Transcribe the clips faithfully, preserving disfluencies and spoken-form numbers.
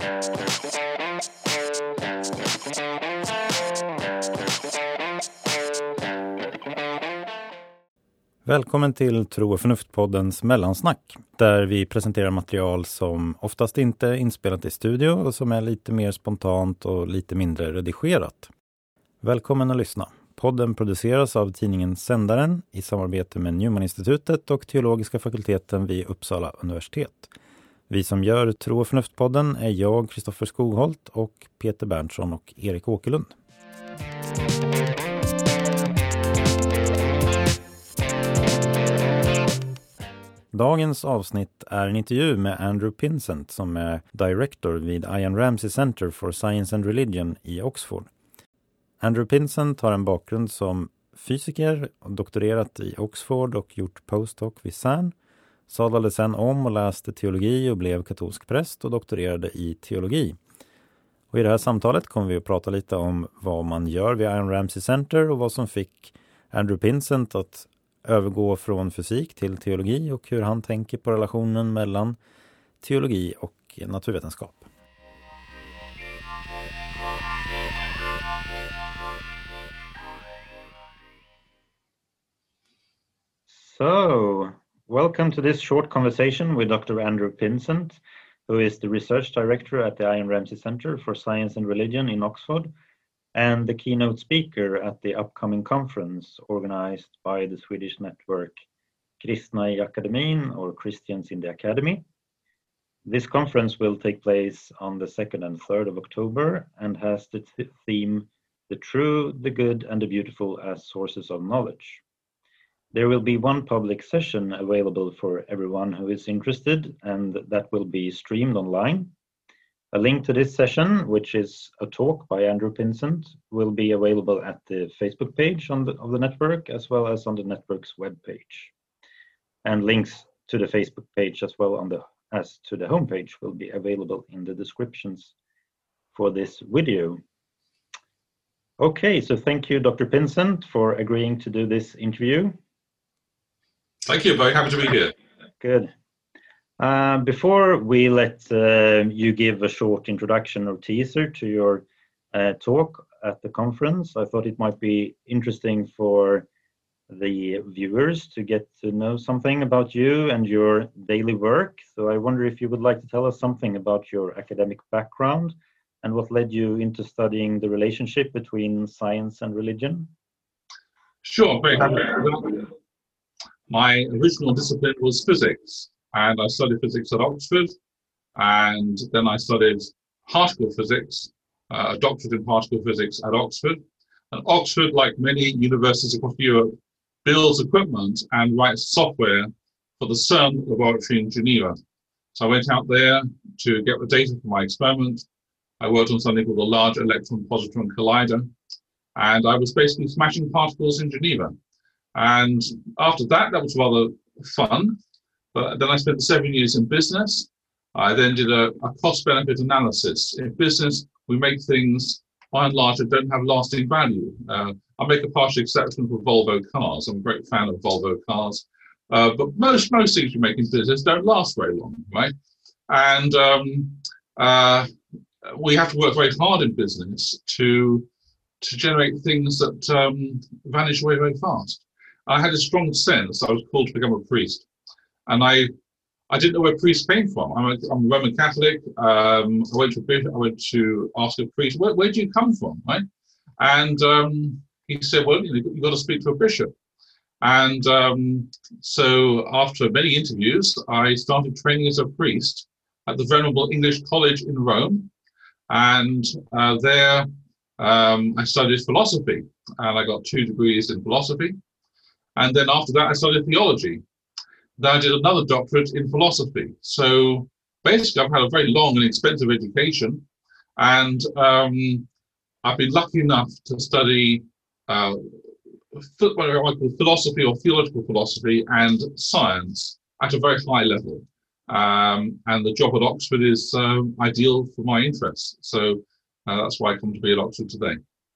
Välkommen till Tro och förnuft-poddens mellansnack, där vi presenterar material som oftast inte är inspelat i studio och som är lite mer spontant och lite mindre redigerat. Välkommen att lyssna. Podden produceras av tidningen Sändaren i samarbete med Newman-institutet och teologiska fakulteten vid Uppsala universitet. Vi som gör Tro och förnuft-podden är jag, Kristoffer Skogholt, och Peter Berntsson och Erik Åkerlund. Dagens avsnitt är en intervju med Andrew Pinsent som är director vid Ian Ramsey Center for Science and Religion i Oxford. Andrew Pinsent har en bakgrund som fysiker och doktorerat i Oxford och gjort postdoc vid C E R N. Sadlade sedan om och läste teologi och blev katolsk präst och doktorerade i teologi. Och i det här samtalet kommer vi att prata lite om vad man gör vid Ian Ramsey Center och vad som fick Andrew Pinsent att övergå från fysik till teologi och hur han tänker på relationen mellan teologi och naturvetenskap. So, welcome to this short conversation with Doctor Andrew Pinsent, who is the research director at the Ian Ramsey Center for Science and Religion in Oxford, and the keynote speaker at the upcoming conference organized by the Swedish network Kristna i Akademin, or Christians in the Academy. This conference will take place on the second and third of October and has the th- theme The True, the Good and the Beautiful as Sources of Knowledge. There will be one public session available for everyone who is interested, and that will be streamed online. A link to this session, which is a talk by Andrew Pinsent, will be available at the Facebook page on the, of the network, as well as on the network's webpage. And links to the Facebook page as well on the, as to the homepage will be available in the descriptions for this video. Okay, so thank you, Doctor Pinsent, for agreeing to do this interview. Thank you, very happy to be here. Good. Uh, before we let uh, you give a short introduction or teaser to your uh, talk at the conference, I thought it might be interesting for the viewers to get to know something about you and your daily work. So I wonder if you would like to tell us something about your academic background and what led you into studying the relationship between science and religion. Sure, very happy. My original discipline was physics, and I studied physics at Oxford, and then I studied particle physics, uh, a doctorate in particle physics at Oxford. And Oxford, like many universities across Europe, builds equipment and writes software for the CERN laboratory in Geneva. So I went out there to get the data for my experiment. I worked on something called the Large Electron Positron Collider, and I was basically smashing particles in Geneva. And after that, that was rather fun. But then I spent seven years in business. I then did a, a cost-benefit analysis. In business, we make things, by and large, that don't have lasting value. Uh, I make a partial exception for Volvo cars. I'm a great fan of Volvo cars. Uh, but most most things you make in business don't last very long, right? And um, uh, we have to work very hard in business to, to generate things that um, vanish away very fast. I had a strong sense I was called to become a priest. And I I didn't know where priests came from. I'm a, I'm a Roman Catholic. Um, I went to a bishop, I went to ask a priest, where, where do you come from, right? And um, he said, well, you know, you've got to speak to a bishop. And um, so after many interviews, I started training as a priest at the Venerable English College in Rome. And uh, there um, I studied philosophy, and I got two degrees in philosophy. And then after that, I studied theology. Then I did another doctorate in philosophy. So basically, I've had a very long and expensive education. And um, I've been lucky enough to study uh, what I call philosophy or theological philosophy and science at a very high level. Um, and the job at Oxford is um, ideal for my interests. So uh, that's why I come to be at Oxford today.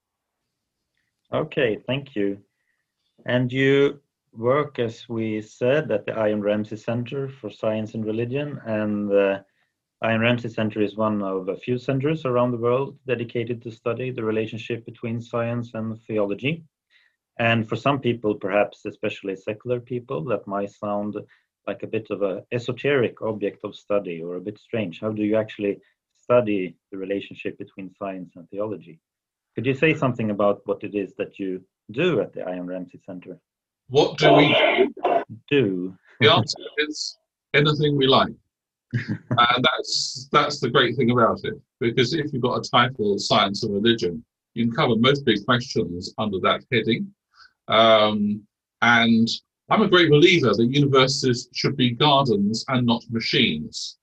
Okay, thank you. And you work, as we said, at the Ian Ramsey Center for Science and Religion, and uh, Ian Ramsey Center is one of a few centers around the world dedicated to study the relationship between science and theology. And for some people, perhaps especially secular people, that might sound like a bit of an esoteric object of study or a bit strange. How do you actually study the relationship between science and theology? Could you say something about what it is that you do at the Ian Ramsey Center? What do we do? The answer is anything we like. And that's that's the great thing about it, because if you've got a title, Science and Religion, you can cover most big questions under that heading. Um, and I'm a great believer that universities should be gardens and not machines.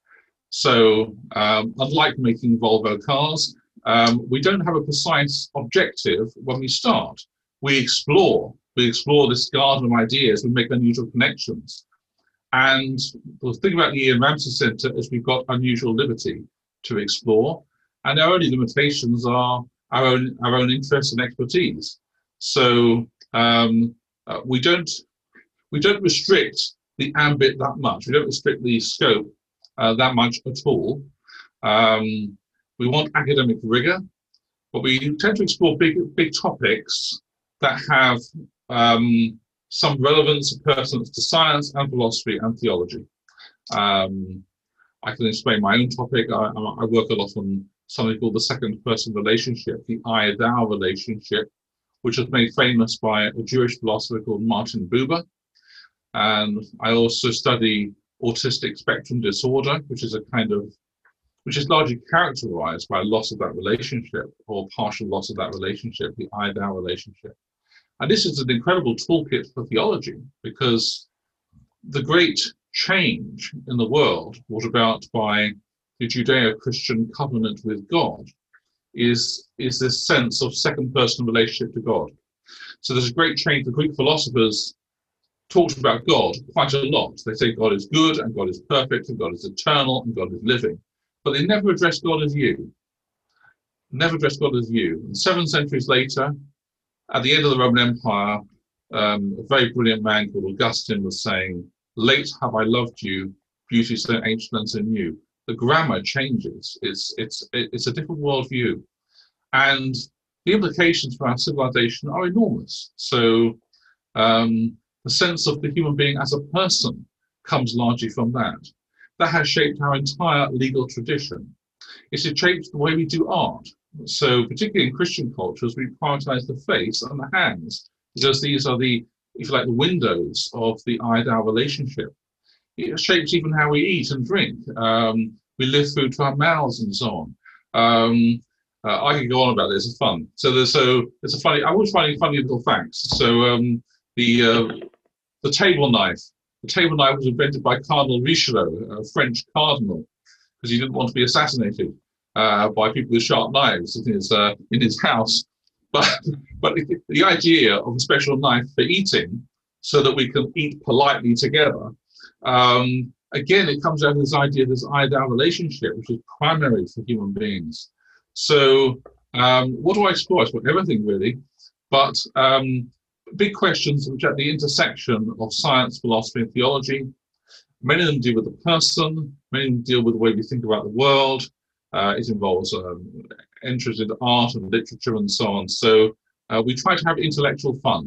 So um, unlike making Volvo cars, um, we don't have a precise objective when we start. We explore. We explore this garden of ideas. We make unusual connections. And the thing about the Ian Ramsey Center is we've got unusual liberty to explore, and our only limitations are our own our own interests and expertise. So um, uh, we don't we don't restrict the ambit that much. We don't restrict the scope uh, that much at all. Um, we want academic rigor, but we tend to explore big big topics that have um, some relevance and pertinence to science and philosophy and theology. Um, I can explain my own topic. I, I work a lot on something called the second person relationship, the I-thou relationship, which was made famous by a Jewish philosopher called Martin Buber. And I also study autistic spectrum disorder, which is a kind of, which is largely characterized by loss of that relationship or partial loss of that relationship, the I-thou relationship. And this is an incredible toolkit for theology, because the great change in the world brought about by the Judeo-Christian covenant with God is, is this sense of second-person relationship to God. So there's a great change. The Greek philosophers talked about God quite a lot. They say God is good, and God is perfect, and God is eternal, and God is living. But they never addressed God as you. Never addressed God as you. And seven centuries later, at the end of the Roman Empire, um, a very brilliant man called Augustine was saying, "Late have I loved you, beauty so ancient and so new." The grammar changes. It's it's it's a different worldview, and the implications for our civilization are enormous. So um, the sense of the human being as a person comes largely from that. That has shaped our entire legal tradition. It's shaped the way we do art. So particularly in Christian cultures, we prioritize the face and the hands, because these are the, if you like, the windows of the I-thou relationship. It shapes even how we eat and drink. Um, we live food to our mouths and so on. Um, uh, I could go on about this, it's fun. So there's, so it's a funny, I was finding funny little facts. So um, the, uh, the table knife, the table knife was invented by Cardinal Richelieu, a French cardinal, because he didn't want to be assassinated uh, by people with sharp knives in his, uh, in his house. But, but the, the idea of a special knife for eating so that we can eat politely together, um, again, it comes out of this idea of this I-thou relationship, which is primary for human beings. So um, what do I explore? I explore everything, really. But um, big questions which are at the intersection of science, philosophy, and theology. Many of them deal with the person. Many of them deal with the way we think about the world. Uh, it involves um, entries into art and literature and so on. So uh, we try to have intellectual fun.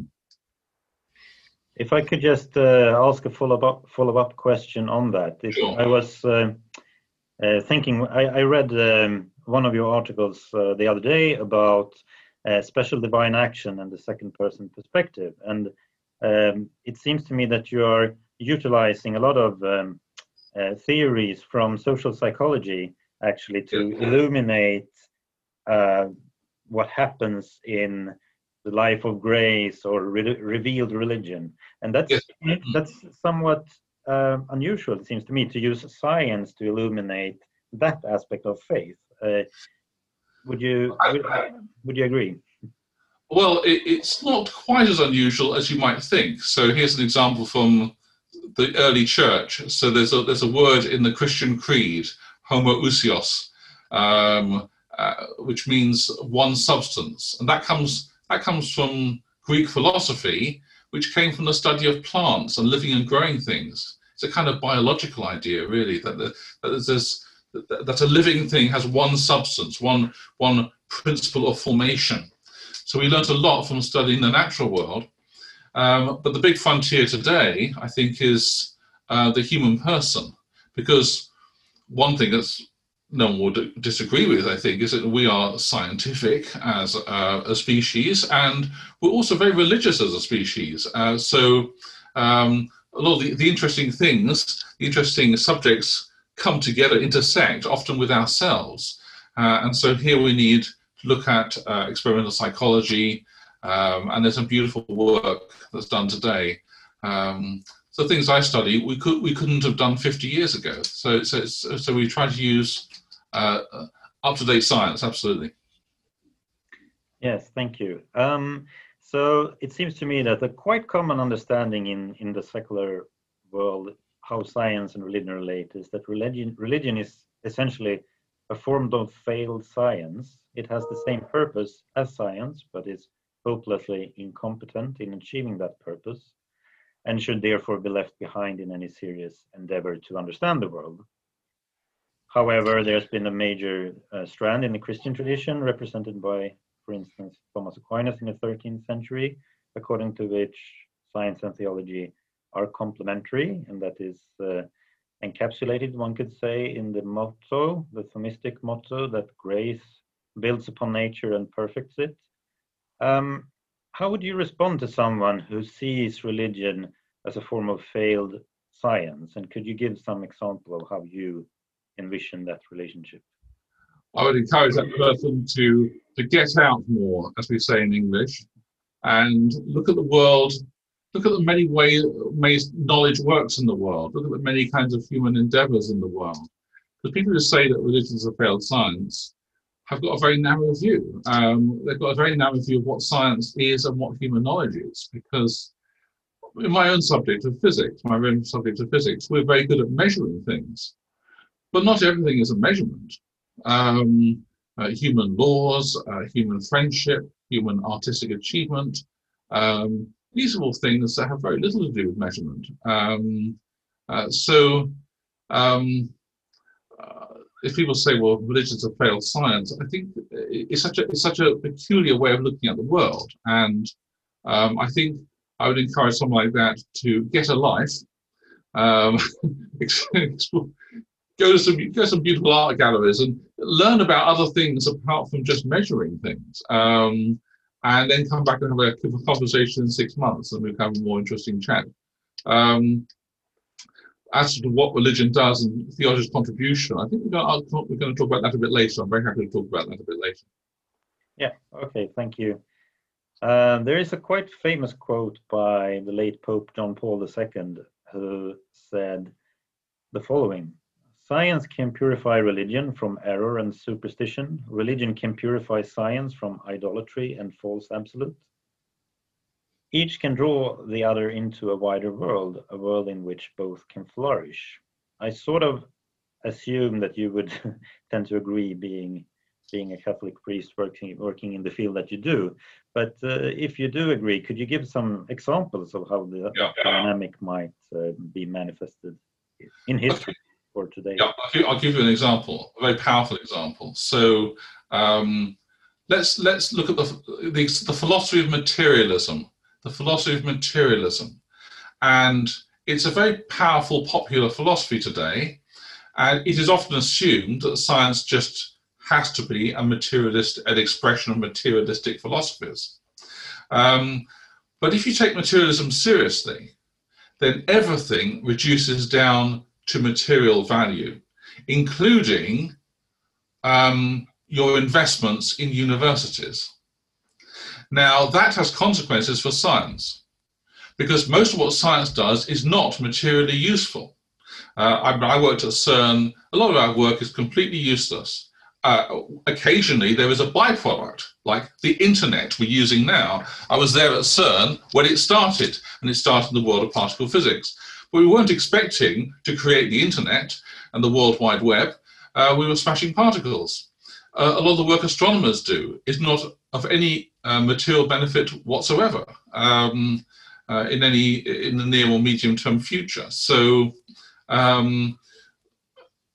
If I could just uh, ask a follow-up follow-up question on that. If Sure. I was uh, uh, thinking, I, I read um, one of your articles uh, the other day about uh, special divine action and the second-person perspective, and um, it seems to me that you are utilizing a lot of um, uh, theories from social psychology actually to Yeah. illuminate uh, what happens in the life of grace or re revealed religion, and that's Yes. that's somewhat uh, unusual, it seems to me, to use science to illuminate that aspect of faith. Uh, would you would, would you agree? Well, it, it's not quite as unusual as you might think. So here's an example from the early church. So there's a there's a word in the Christian creed, homoousios, um, uh, which means one substance, and that comes that comes from Greek philosophy, which came from the study of plants and living and growing things. It's a kind of biological idea, really, that, the, that there's this that, that a living thing has one substance, one, one principle of formation. So we learnt a lot from studying the natural world. Um, but the big frontier today, I think, is uh, the human person. Because one thing that's no one would disagree with, I think, is that we are scientific as uh, a species, and we're also very religious as a species. Uh, so um, a lot of the, the interesting things, the interesting subjects come together, intersect, often with ourselves. Uh, and so here we need to look at uh, experimental psychology, um, and there's some beautiful work that's done today. Um, so things I study, we, could, we couldn't have done fifty years ago. So, so, so we try to use uh, up-to-date science, absolutely. Yes, thank you. Um, so it seems to me that a quite common understanding in, in the secular world, how science and religion relate, is that religion, religion is essentially a form of failed science. It has the same purpose as science, but is hopelessly incompetent in achieving that purpose, and should therefore be left behind in any serious endeavor to understand the world. However, there's been a major uh, strand in the Christian tradition, represented by, for instance, Thomas Aquinas in the thirteenth century, according to which science and theology are complementary, and that is uh, encapsulated, one could say, in the motto, the Thomistic motto, that grace builds upon nature and perfects it. Um, how would you respond to someone who sees religion as a form of failed science? And could you give some example of how you envision that relationship? I would encourage that person to, to get out more, as we say in English, and look at the world, look at the many ways, ways knowledge works in the world, look at the many kinds of human endeavors in the world. Because people who say that religion is a failed science have got a very narrow view. Um, they've got a very narrow view of what science is and what human knowledge is, because in my own subject of physics, my own subject of physics, we're very good at measuring things, but not everything is a measurement. Um, uh, human laws, uh, human friendship, human artistic achievement, um, these are all things that have very little to do with measurement. Um, uh, so um, uh, if people say, well, religion's a failed science, I think it's such a, it's such a peculiar way of looking at the world. And um, I think I would encourage someone like that to get a life, um, go to some go to some beautiful art galleries and learn about other things apart from just measuring things, um, and then come back and have a conversation in six months, and we'll have a more interesting chat. Um, as to what religion does and theology's contribution, I think we're going, to, we're going to talk about that a bit later. I'm very happy to talk about that a bit later. Yeah. Okay. Thank you. Uh, there is a quite famous quote by the late Pope John Paul the Second, who said the following: "Science can purify religion from error and superstition. Religion can purify science from idolatry and false absolute. Each can draw the other into a wider world, a world in which both can flourish." I sort of assume that you would tend to agree, being being a Catholic priest working working in the field that you do. But uh, if you do agree, could you give some examples of how the yeah. dynamic might uh, be manifested in history? For today? Yeah, I'll give, I'll give you an example, a very powerful example. So um, let's let's look at the, the the philosophy of materialism. The philosophy of materialism, and it's a very powerful, popular philosophy today. And it is often assumed that science just has to be a materialist, an expression of materialistic philosophies. Um, but if you take materialism seriously, then everything reduces down to material value, including um, your investments in universities. Now, that has consequences for science, because most of what science does is not materially useful. Uh, I, I worked at CERN. A lot of our work is completely useless. Uh, occasionally, there is a byproduct, like the internet we're using now. I was there at CERN when it started, and it started in the world of particle physics. But we weren't expecting to create the internet and the World Wide Web. Uh, we were smashing particles. Uh, a lot of the work astronomers do is not of any uh, material benefit whatsoever um, uh, in any in the near or medium term future. So um,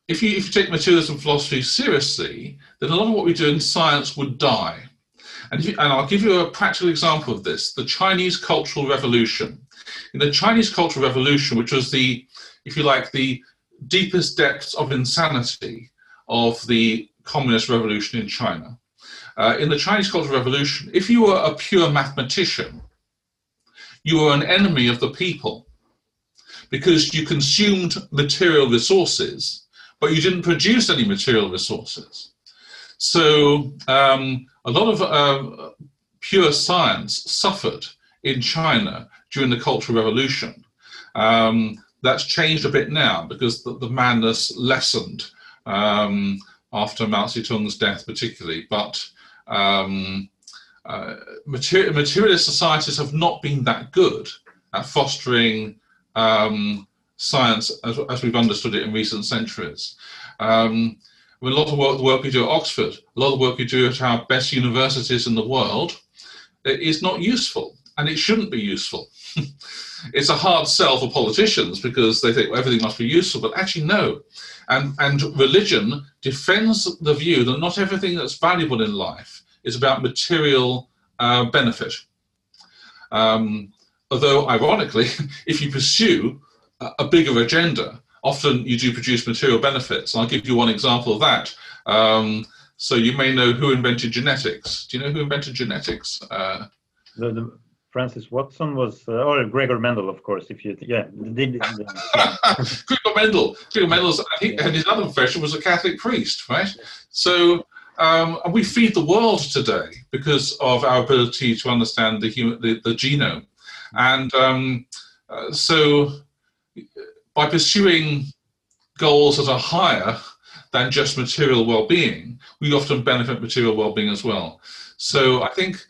if you if you take materialism philosophy seriously, then a lot of what we do in science would die. And, if you, and I'll give you a practical example of this: the Chinese Cultural Revolution. In the Chinese Cultural Revolution, which was the, if you like, the deepest depths of insanity of the communist revolution in China. Uh, in the Chinese Cultural Revolution, if you were a pure mathematician, you were an enemy of the people because you consumed material resources, but you didn't produce any material resources. So um, a lot of uh, pure science suffered in China during the Cultural Revolution. Um, that's changed a bit now because the, the madness lessened um, after Mao Zedong's death particularly, but um, uh, material, materialist societies have not been that good at fostering um, science as, as we've understood it in recent centuries. Um, a lot of work, the work we do at Oxford, a lot of work we do at our best universities in the world is not useful, and it shouldn't be useful. It's a hard sell for politicians because they think, well, everything must be useful, but actually no. And, and religion defends the view that not everything that's valuable in life is about material uh, benefit. Um, although, ironically, if you pursue a, a bigger agenda, often you do produce material benefits. And I'll give you one example of that. Um, so you may know who invented genetics. Do you know who invented genetics? Uh, the, the Francis Watson was, uh, or Gregor Mendel, of course. If you, yeah, did, yeah. Gregor Mendel. Gregor Mendel's, I think, and his other profession was a Catholic priest, right? So um, we feed the world today because of our ability to understand the human, the, the genome, and um, uh, so by pursuing goals that are higher than just material well-being, we often benefit material well-being as well. So I think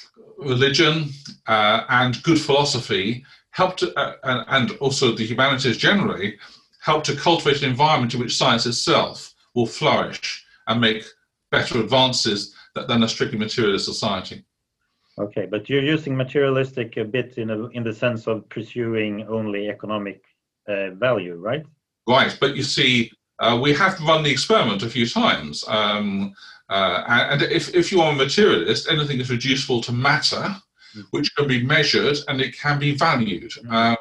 religion uh, and good philosophy help to, uh, and, and also the humanities generally, help to cultivate an environment in which science itself will flourish and make better advances than a strictly materialist society. Okay, but you're using materialistic a bit in, a, in the sense of pursuing only economic uh, value, right? Right, but you see, uh, we have run the experiment a few times. Um, Uh, and if, if you are a materialist, anything is reducible to matter, which can be measured and it can be valued. Um,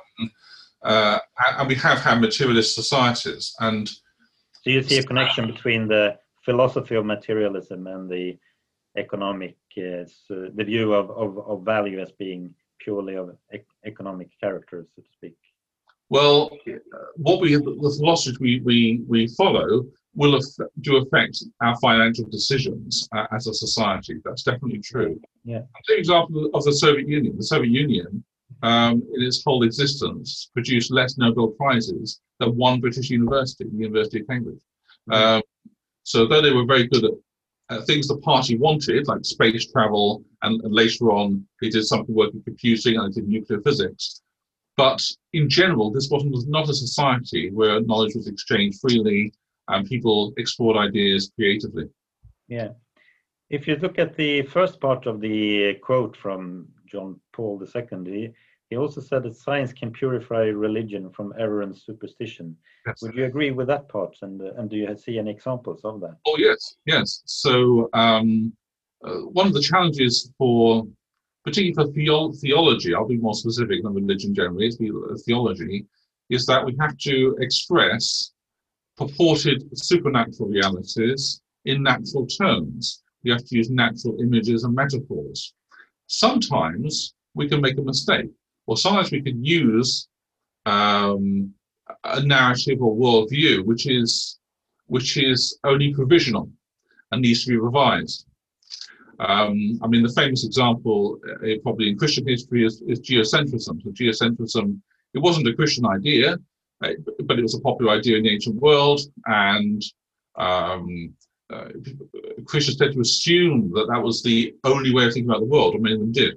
uh, and we have had materialist societies. And so you see a connection between the philosophy of materialism and the economic, uh, so the view of, of, of value as being purely of ec economic character, so to speak. Well, what we, the philosophy we, we, we follow will affect, do affect our financial decisions uh, as a society. That's definitely true. Yeah. I'll take an example of the Soviet Union. The Soviet Union, um, in its whole existence, produced less Nobel Prizes than one British university, the University of Cambridge. Mm-hmm. um, so though they were very good at uh, things the party wanted, like space travel, and, and later on they did something work in computing and they did nuclear physics, but in general, this wasn't not a society where knowledge was exchanged freely and people explored ideas creatively. Yeah. If you look at the first part of the quote from John Paul the Second, he, he also said that science can purify religion from error and superstition. Yes. Would you agree with that part? And, uh, and do you see any examples of that? Oh, yes, yes. So um, uh, one of the challenges for, particularly for theo theology, I'll be more specific than religion generally, it's theology, is that we have to express purported supernatural realities in natural terms. We have to use natural images and metaphors. Sometimes we can make a mistake, or sometimes we can use um, a narrative or worldview which is which is only provisional and needs to be revised. Um, I mean, the famous example, uh, probably in Christian history, is, is geocentrism. So geocentrism, it wasn't a Christian idea, but it was a popular idea in the ancient world, and um, uh, Christians tend to assume that that was the only way of thinking about the world, or many of them did.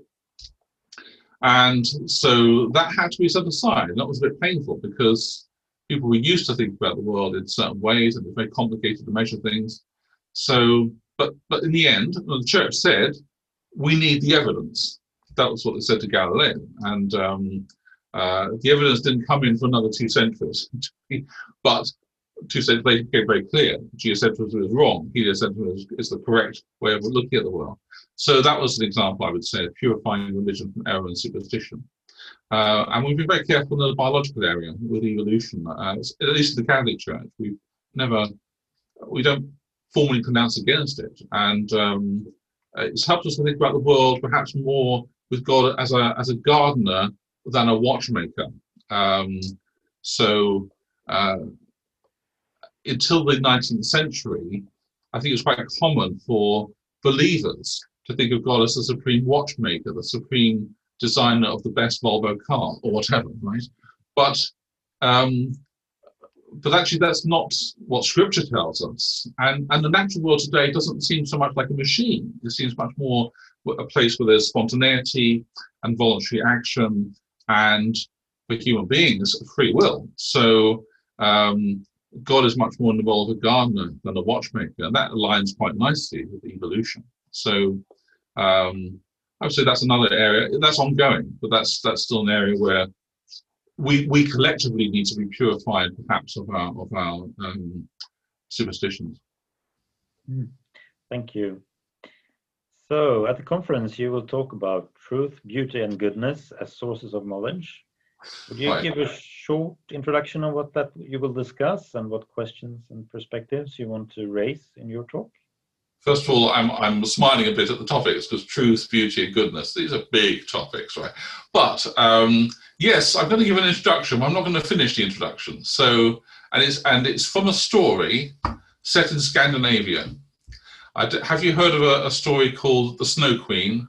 And so that had to be set aside, and that was a bit painful because people were used to thinking about the world in certain ways, and it's very complicated to measure things. So, but, but in the end, the church said, we need the evidence. That was what they said to Galileo. And um, Uh, the evidence didn't come in for another two centuries, but two centuries later became very clear. Geocentrism is wrong. Heliocentrism is, is the correct way of looking at the world. So that was an example, I would say, of purifying religion from error and superstition. Uh, and we've been very careful in the biological area with evolution. Uh, at least in the Catholic Church, we've never, we don't formally pronounce against it. And um, it's helped us to think about the world perhaps more with God as a as a gardener than a watchmaker. Um, so uh, until the nineteenth century, I think it was quite common for believers to think of God as the supreme watchmaker, the supreme designer of the best Volvo car or whatever, right? But um, but actually that's not what Scripture tells us. And and the natural world today doesn't seem so much like a machine. It seems much more a place where there's spontaneity and voluntary action, and for human beings, free will. So um, God is much more involved a gardener than a watchmaker, and that aligns quite nicely with evolution. So um, I would say that's another area that's ongoing, but that's that's still an area where we we collectively need to be purified, perhaps, of our of our um, superstitions. Thank you. So at the conference, you will talk about truth, beauty, and goodness as sources of knowledge. Would you Right. give a short introduction on what that you will discuss and what questions and perspectives you want to raise in your talk? First of all, I'm I'm smiling a bit at the topics because truth, beauty, and goodness, these are big topics, right? But um, yes, I'm going to give an introduction. I'm not going to finish the introduction. So, and it's and it's from a story set in Scandinavia. I d have you heard of a, a story called The Snow Queen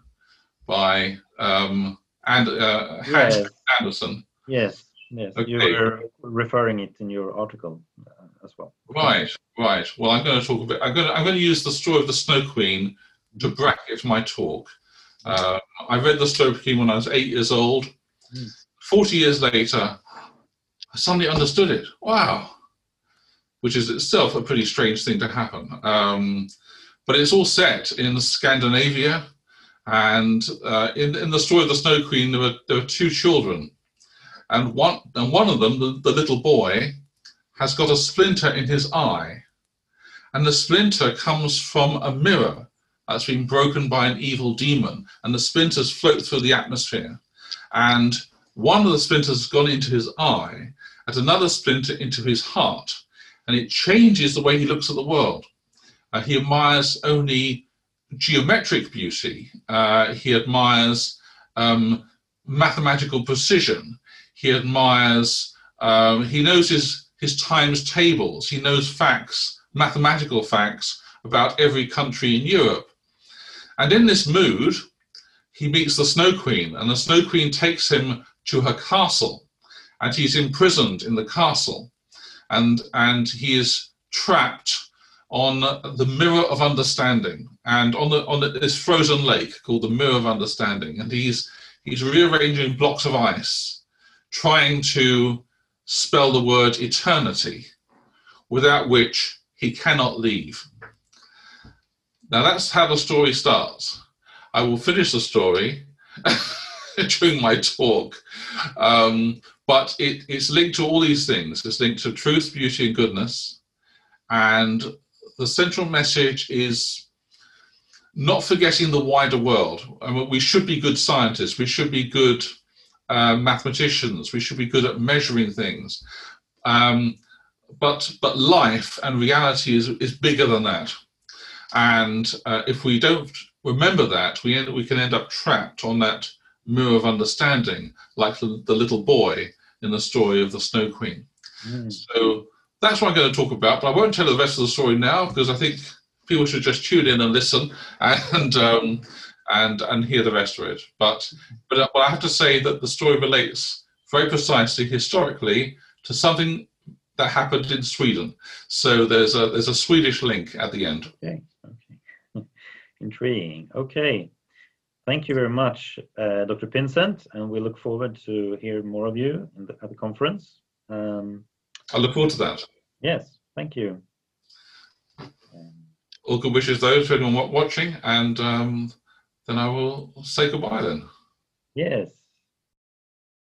by um, and uh, Hans Yes. Andersen? Yes, yes. Okay. You were referring it in your article uh, as well. Right, right. Well, I'm going to talk a bit. I'm going to I'm going to use the story of the Snow Queen to bracket my talk. Uh, I read the Snow Queen when I was eight years old. Mm. Forty years later, I suddenly understood it. Wow, which is itself a pretty strange thing to happen. Um, but it's all set in Scandinavia, and uh, in in the story of the Snow Queen, there were there were two children, and one and one of them, the, the little boy, has got a splinter in his eye, and the splinter comes from a mirror that's been broken by an evil demon, and the splinters float through the atmosphere, and one of the splinters has gone into his eye, and another splinter into his heart, and it changes the way he looks at the world. Uh, he admires only geometric beauty. Uh, he admires um, mathematical precision. He admires, um, he knows his, his times tables. He knows facts, mathematical facts about every country in Europe. And in this mood, he meets the Snow Queen, and the Snow Queen takes him to her castle, and he's imprisoned in the castle, and, and he is trapped on the Mirror of Understanding, and on the on the, this frozen lake called the Mirror of Understanding, and he's he's rearranging blocks of ice, trying to spell the word eternity, without which he cannot leave. Now that's how the story starts. I will finish the story during my talk, um, but it, it's linked to all these things. It's linked to truth, beauty, and goodness, and the central message is not forgetting the wider world. I mean, we should be good scientists, we should be good uh, mathematicians, we should be good at measuring things, um, but but life and reality is, is bigger than that. And uh, if we don't remember that, we, end, we can end up trapped on that mirror of understanding, like the, the little boy in the story of the Snow Queen. Mm. So that's what I'm going to talk about, but I won't tell the rest of the story now, because I think people should just tune in and listen and um, and and hear the rest of it. But, but but I have to say that the story relates very precisely historically to something that happened in Sweden. So there's a there's a Swedish link at the end. Okay, okay, intriguing. Okay, thank you very much, uh, Doctor Pinsent, and we look forward to hear more of you in the, at the conference. Um, I look forward to that. Yes, thank you. Um, All good wishes, those for anyone watching, and um, then I will say goodbye then. Yes.